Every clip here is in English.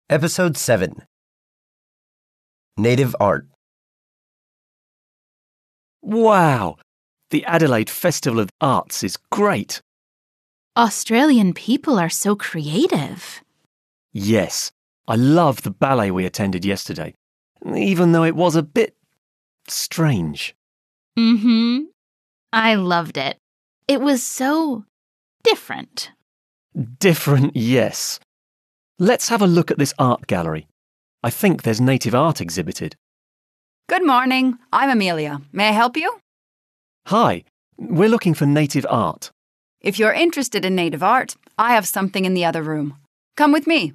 Episode 7 Native Art. Wow! The Adelaide Festival of Arts is great. Australian people are so creative. Yes, I love the ballet we attended yesterday, even though it was a bit strange. I loved it. It was so different. Different, yes. Let's have a look at this art gallery. I think there's native art exhibited. Good morning. I'm Amelia. May I help you? Hi, we're looking for native art. If you're interested in native art, I have something in the other room. Come with me.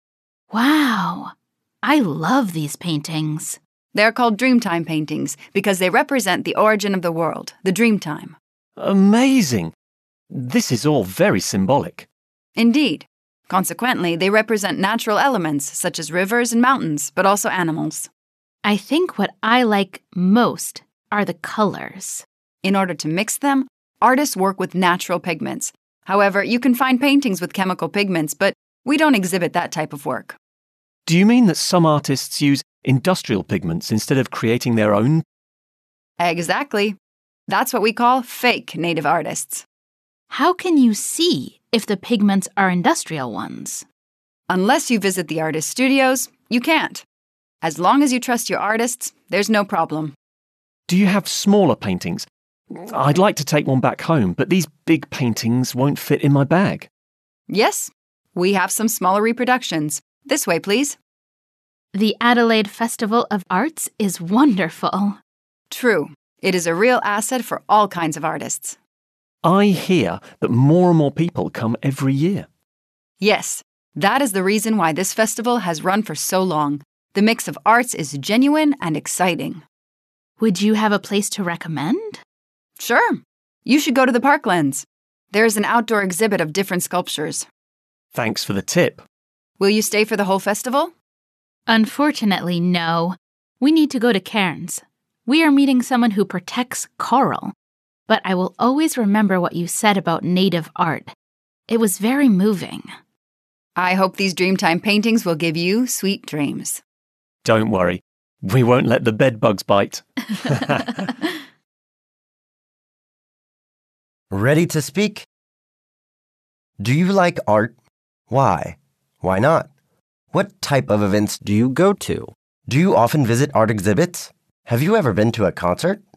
Wow, I love these paintings. They're called Dreamtime paintings because they represent the origin of the world, the Dreamtime. Amazing! This is all very symbolic. Indeed. Consequently, they represent natural elements such as rivers and mountains, but also animals. I think what I like most are the colors. In order to mix them, artists work with natural pigments. However, you can find paintings with chemical pigments, but we don't exhibit that type of work. Do you mean that some artists use industrial pigments instead of creating their own? Exactly. That's what we call fake native artists. How can you see if the pigments are industrial ones? Unless you visit the artist studios, you can't. As long as you trust your artists, there's no problem. Do you have smaller paintings? I'd like to take one back home, but these big paintings won't fit in my bag. Yes, we have some smaller reproductions. This way, please. The Adelaide Festival of Arts is wonderful. True. It is a real asset for all kinds of artists. I hear that more and more people come every year. Yes, that is the reason why this festival has run for so long. The mix of arts is genuine and exciting. Would you have a place to recommend? Sure. You should go to the Parklands. There is an outdoor exhibit of different sculptures. Thanks for the tip. Will you stay for the whole festival? Unfortunately, no. We need to go to Cairns. We are meeting someone who protects coral. But I will always remember what you said about native art. It was very moving. I hope these Dreamtime paintings will give you sweet dreams. Don't worry, we won't let the bedbugs bite. Ready to speak? Do you like art? Why? Why not? What type of events do you go to? Do you often visit art exhibits? Have you ever been to a concert?